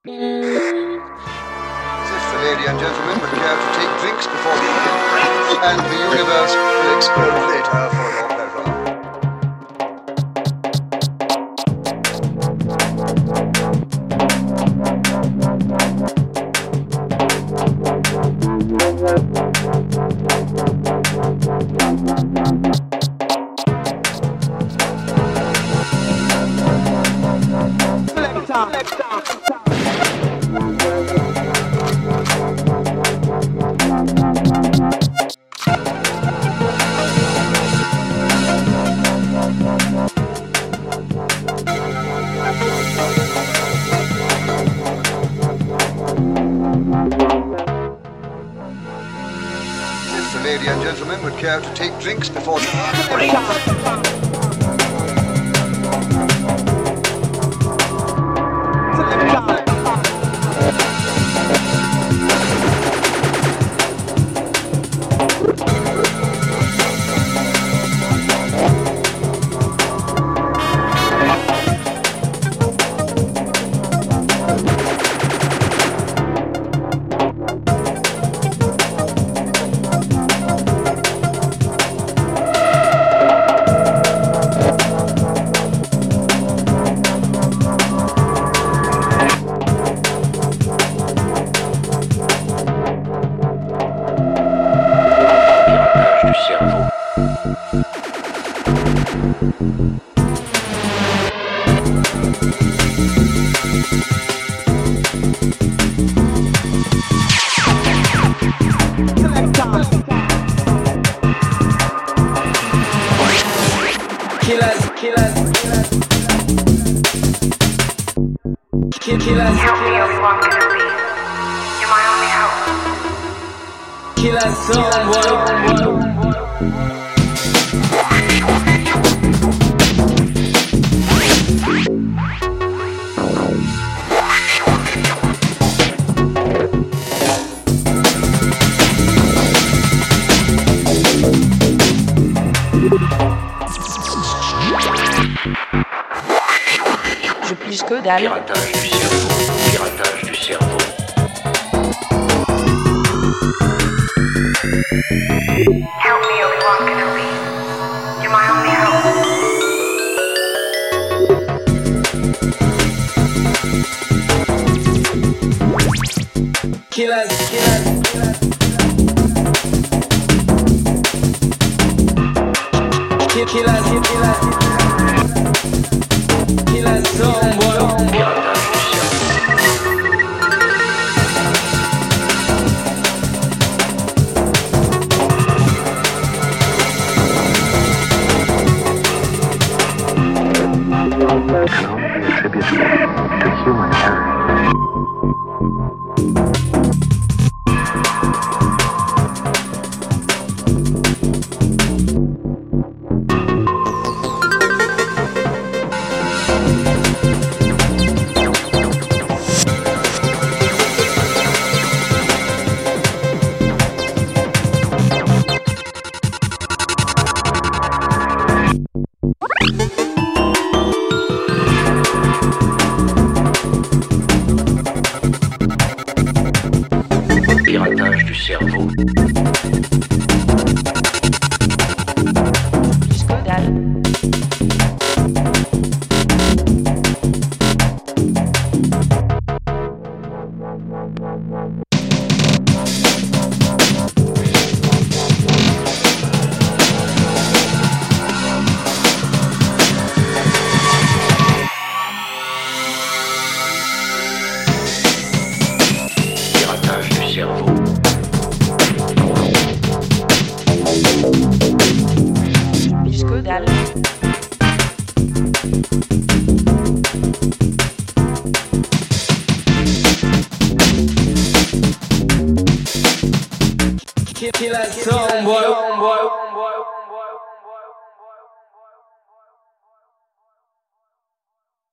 If the lady and gentleman would care to take drinks before the evening, and the universe will explode later for your pleasure. If the lady and gentleman would care to take drinks before the Je plus que dalle. Piratage du cerveau. Piratage du cerveau. Help me, Obi-Wan Kenobi. You're my only hope. Killers. Can only be attributed to human error. Piratage du cerveau. Plus que dalle. Piratage du cerveau. Plus que dalle. Kill us, boy.